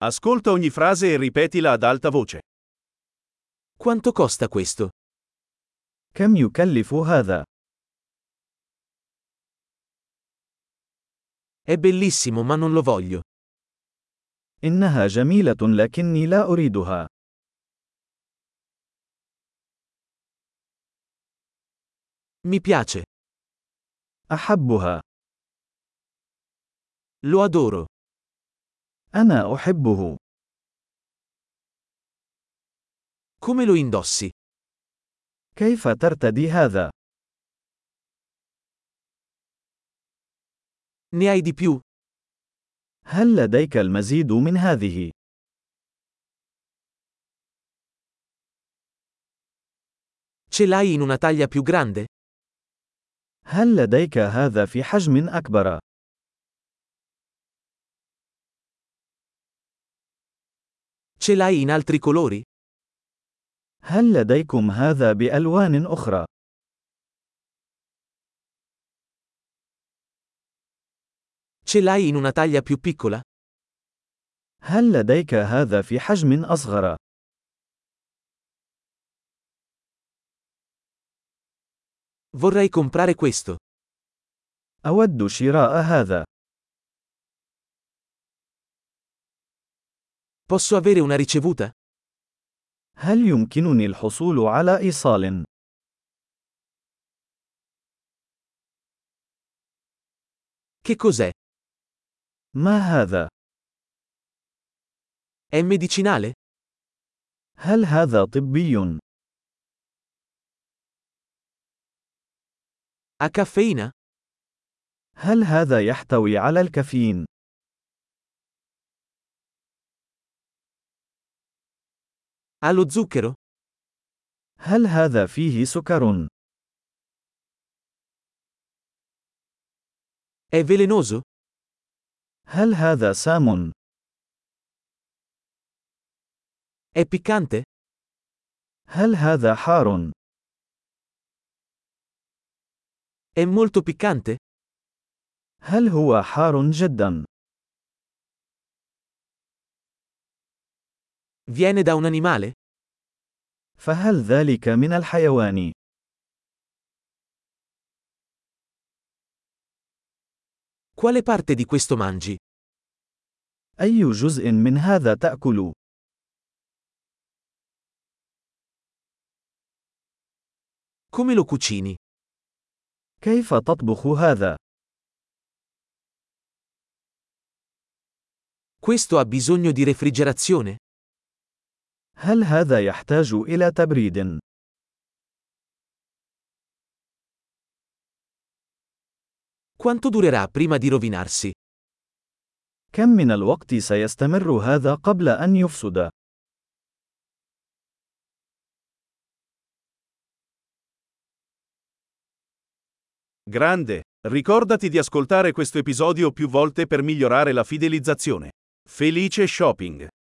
Ascolta ogni frase e ripetila ad alta voce. Quanto costa questo? كم يكلف هذا؟ È bellissimo ma non lo voglio. إنها جميلة لكني لا أريدها. Mi piace. أحبها. Lo adoro. أنا أحبه. Come lo indossi? كيف ترتدي هذا؟ Ne hai di più? هل لديك المزيد من هذه؟ Ce l'hai in una taglia più grande? هل لديك هذا في حجم أكبر؟ Ce l'hai in altri colori? هل لديكم هذا بألوان أخرى؟ Ce l'hai in una taglia più piccola? هل لديك هذا في حجم أصغر؟ Vorrei comprare questo. أود شراء هذا. Posso avere una ricevuta? هل يمكنني الحصول على إيصال؟ Che cos'è? ما هذا؟ È medicinale? هل هذا طبي؟ Ha caffeina? هل هذا يحتوي على الكافيين؟ Ha lo zucchero? هل هذا فيه سكر؟ È velenoso? هل هذا سام؟ È piccante? هل هذا حار؟ È molto piccante? هل هو حار جدا؟ Viene da un animale? فهل ذلك من الحيوان؟ Quale parte di questo mangi? أي جزء من هذا تأكل؟ Come lo cucini? كيف تطبخ هذا؟ Questo ha bisogno di refrigerazione? هل هذا يحتاج إلى تبريد؟ Quanto durerà prima di rovinarsi? كم من الوقت سيستمر هذا قبل أن يفسد؟ Grande! Ricordati di ascoltare questo episodio più volte per migliorare la fidelizzazione. Felice shopping!